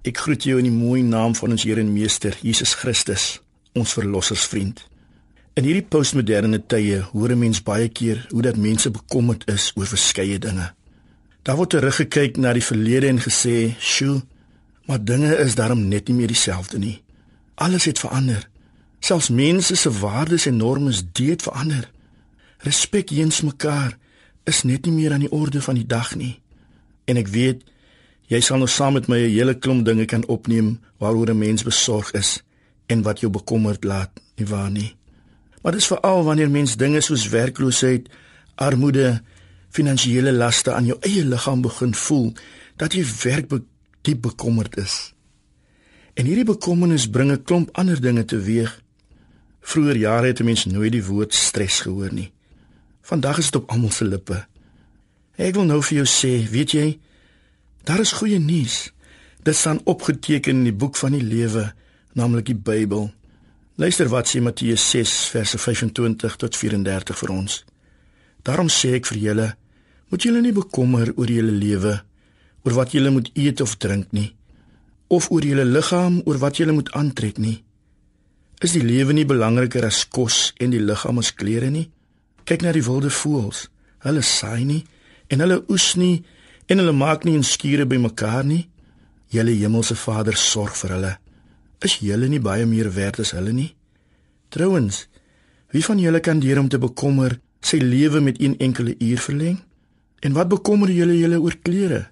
Ek groet jou in die mooi naam van ons Here en Meester, Jesus Christus, ons verlossersvriend. In hierdie postmoderne tye hoor 'n mens baie keer hoe dat mense bekommerd is oor verskeie dinge. Daar word teruggekyk na die verlede en gesê, "Sjoe, maar dinge is daarom net nie meer dieselfde nie. Alles het verander. Selfs mense se waardes en normes het verander. Respek teenoor mekaar is net nie meer aan die orde van die dag nie." En ek weet, jy sal nou saam met my 'n hele klomp dinge kan opneem waaroor 'n mens besorg is en wat jou bekommerd laat, nie waar nie? Maar dis veral wanneer mens dinge soos werkloosheid, armoede, finansiële laste aan jou eie liggaam begin voel, dat jy werklik diep bekommerd is. En hierdie bekommernis bring 'n klomp ander dinge teweeg. Vroeger jare het 'n mens nooit die woord stres gehoor nie. Vandag is dit op almal se lippe. Ek wil nou vir jou sê, weet jy, daar is goeie nuus. Dit staan opgeteken in die boek van die lewe, naamlik die Bybel. Luister wat sê Matteus 6 verse 25 tot 34 vir ons. Daarom sê ek vir julle, moet julle nie bekommer oor julle lewe, oor wat julle moet eet of drink nie, of oor julle liggaam, oor wat julle moet aantrek nie. Is die lewe nie belangriker as kos en die liggaam as klere nie? Kyk na die wilde voëls. Hulle saai nie en hulle oes nie en hulle maak nie 'n skure bymekaar nie. Julle hemelse Vader sorg vir hulle. Is julle nie baie meer werd as hulle nie? Trouwens, wie van julle kan deur om te bekommer sy lewe met 1 enkele uur verleng? En wat bekommer julle oor klere?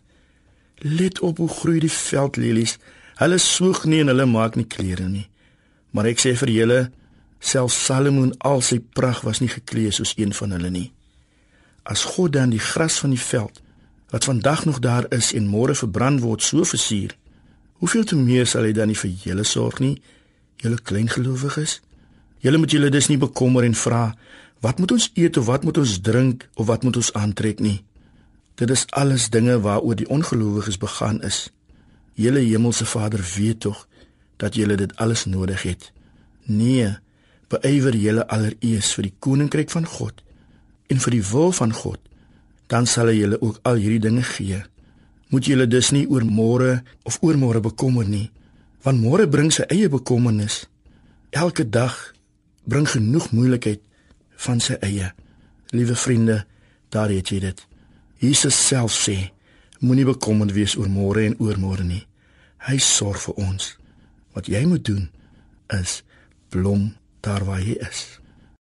Let op hoe groei die veldlelies. Hulle soeg nie en hulle maak nie klere nie. Maar ek sê vir julle, selfs Salomo in al sy pragt was nie geklee soos een van hulle nie. As God dan die gras van die veld, wat vandag nog daar is en môre verbrand word, so versier, hoeveel te meer sal hy dan nie vir julle sorg nie, julle kleingelowiges? Julle moet julle dus nie bekommer en vra, wat moet ons eet of wat moet ons drink of wat moet ons aantrek nie? Dit is alles dinge waaroor die ongelowiges begaan is. Julle hemelse Vader weet tog dat julle dit alles nodig het. Nee, beywer julle allereers vir die koninkryk van God en vir die wil van God, dan sal hy julle ook al hierdie dinge gee. Moet julle dus nie oor môre of oormôre bekommer nie, want môre bring sy eie bekommernis. Elke dag bring genoeg moeilikheid van sy eie. Liewe vriende, daar het jy dit. Jesus self sê, moenie bekommerd wees oor môre en oormôre nie. Hy sorg vir ons. Wat jy moet doen, is blom daar waar jy is.